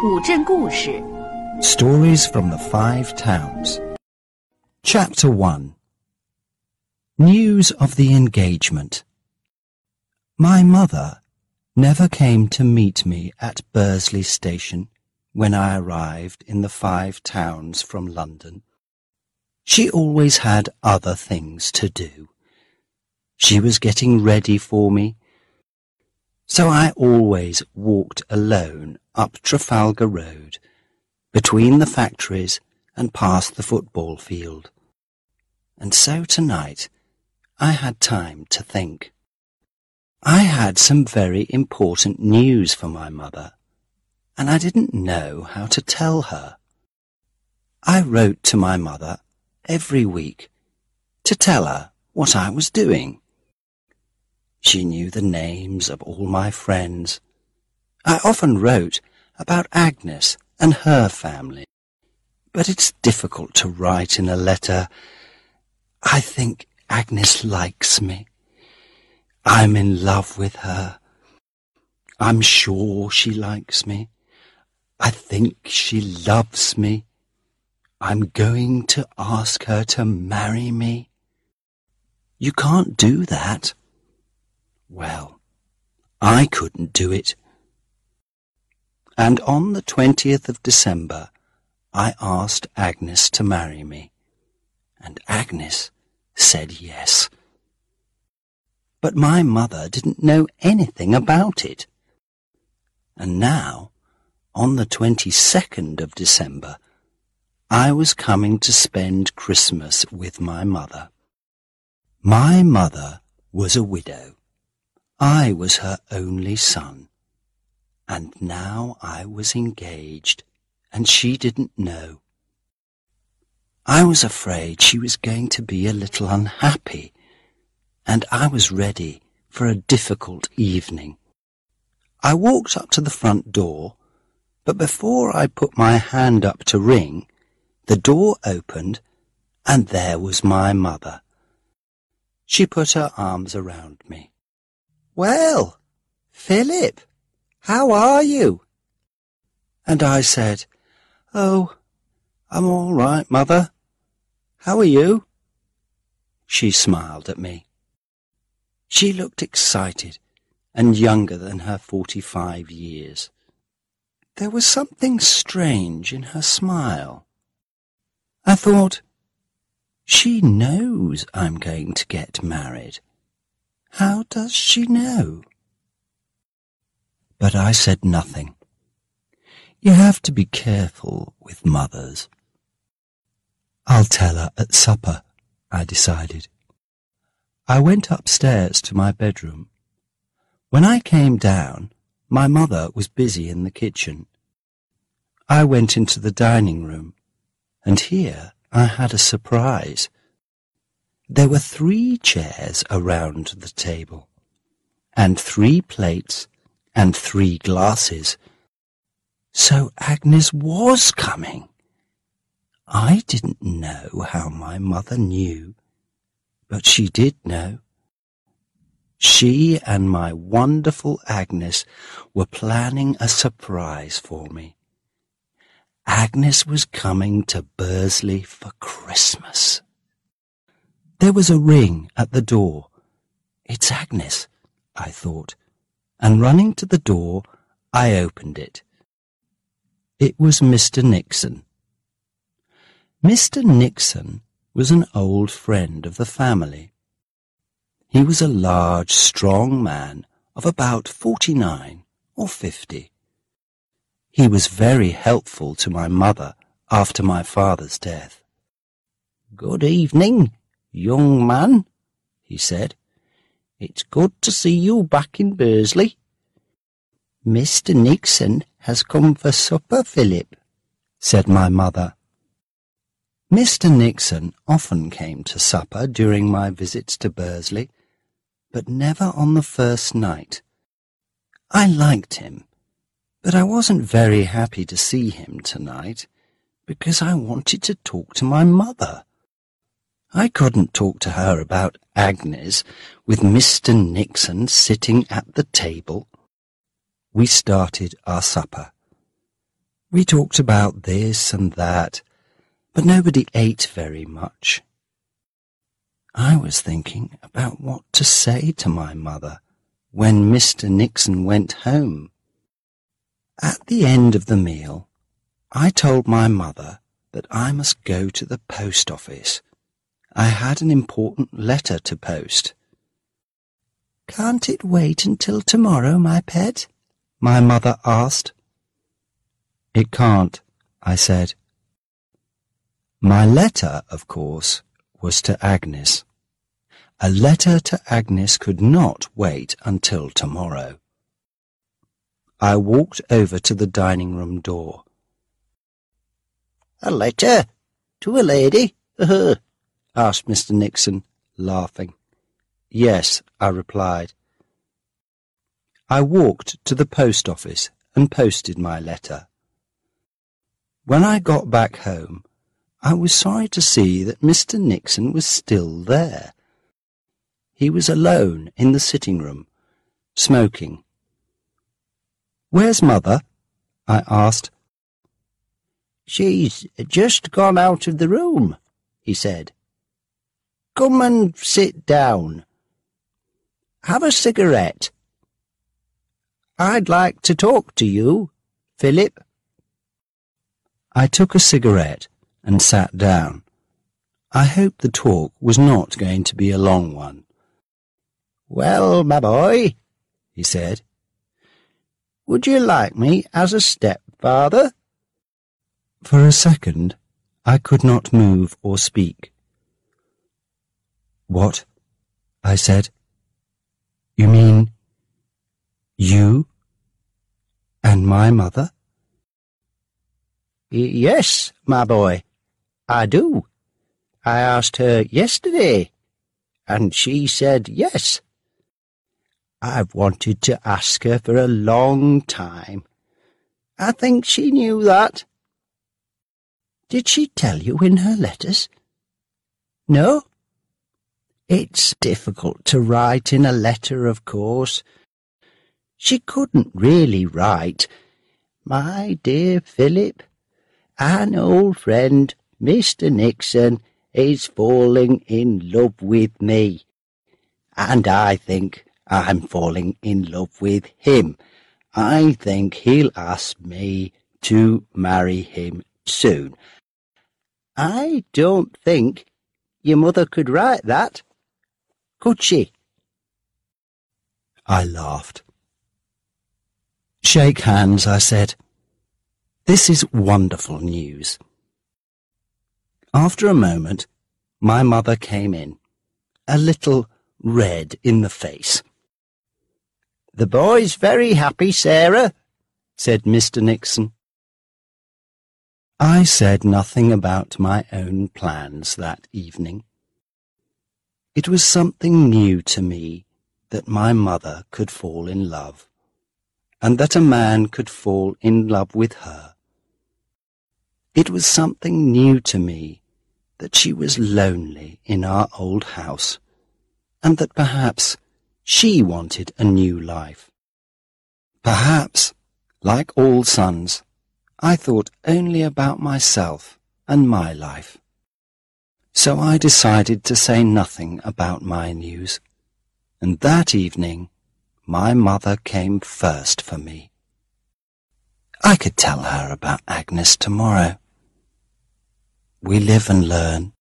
古镇故事 Stories from the Five Towns. Chapter 1. News of the engagement. My mother never came to meet me at Bursley Station when I arrived in the Five Towns from London. She always had other things to do. She was getting ready for me, so I always walked alone up Trafalgar Road, between the factories and past the football field. And so tonight I had time to think. I had some very important news for my mother, and I didn't know how to tell her. I wrote to my mother every week to tell her what I was doing. She knew the names of all my friends. I often wrote about Agnes and her family, but it's difficult to write in a letter. I think Agnes likes me. I'm in love with her. I'm sure she likes me. I think she loves me. I'm going to ask her to marry me. You can't do that. Well, I couldn't do it. And on the 20th of December, I asked Agnes to marry me, and Agnes said yes. But my mother didn't know anything about it. And now, on the 22nd of December, I was coming to spend Christmas with my mother. My mother was a widow. I was her only son, and now I was engaged, and she didn't know. I was afraid she was going to be a little unhappy, and I was ready for a difficult evening. I walked up to the front door, but before I put my hand up to ring, the door opened, and there was my mother. She put her arms around me. "Well, Philip, how are you?" And I said, "Oh, I'm all right, Mother. How are you?" She smiled at me. She looked excited and younger than her 45 years. There was something strange in her smile. I thought, she knows I'm going to get married. How does she know? But I said nothing. You have to be careful with mothers. I'll tell her at supper, I decided. I went upstairs to my bedroom. When I came down, my mother was busy in the kitchen. I went into the dining room, and here I had a surprise. There were 3 chairs around the table, and 3 plates, and 3 glasses. So Agnes was coming. I didn't know how my mother knew, but she did know. She and my wonderful Agnes were planning a surprise for me. Agnes was coming to Bursley for Christmas. There was a ring at the door. It's Agnes, I thought, and running to the door, I opened it. It was Mr. Nixon. Mr. Nixon was an old friend of the family. He was a large, strong man of about 49 or 50. He was very helpful to my mother after my father's death. "Good evening, young man," he said. "It's good to see you back in Bursley." "Mr. Nixon has come for supper, Philip," said my mother. Mr. Nixon often came to supper during my visits to Bursley, but never on the first night. I liked him, but I wasn't very happy to see him tonight, because I wanted to talk to my mother. I couldn't talk to her about Agnes with Mr. Nixon sitting at the table. We started our supper. We talked about this and that, but nobody ate very much. I was thinking about what to say to my mother when Mr. Nixon went home. At the end of the meal, I told my mother that I must go to the post office. I had an important letter to post. "Can't it wait until tomorrow, my pet?" my mother asked. "It can't," I said. My letter, of course, was to Agnes. A letter to Agnes could not wait until tomorrow. I walked over to the dining-room door. "A letter? To a lady?" asked Mr. Nixon, laughing. "Yes," I replied. I walked to the post office and posted my letter. When I got back home, I was sorry to see that Mr. Nixon was still there. He was alone in the sitting-room, smoking. "Where's Mother?" I asked. "She's just gone out of the room," he said. "Come and sit down. Have a cigarette. I'd like to talk to you, Philip." I took a cigarette and sat down. I hoped the talk was not going to be a long one. "Well, my boy," he said, "would you like me as a stepfather?" For a second, I could not move or speak. "What?" I said. "You mean you and my mother?" "Yes, my boy, I do. I asked her yesterday, and she said yes. I've wanted to ask her for a long time. I think she knew that." "Did she tell you in her letters?" "No. It's difficult to write in a letter, of course. She couldn't really write, 'My dear Philip, an old friend, Mr. Nixon, is falling in love with me, and I think I'm falling in love with him. I think he'll ask me to marry him soon.' I don't think your mother could write that, could she?" I laughed. "Shake hands," I said. "This is wonderful news." After a moment, my mother came in, a little red in the face. "The boy's very happy, Sarah," said Mr. Nixon. I said nothing about my own plans that evening. It was something new to me that my mother could fall in love, and that a man could fall in love with her. It was something new to me that she was lonely in our old house, and that perhaps she wanted a new life. Perhaps, like all sons, I thought only about myself and my life. So I decided to say nothing about my news, and that evening my mother came first for me. I could tell her about Agnes tomorrow. We live and learn.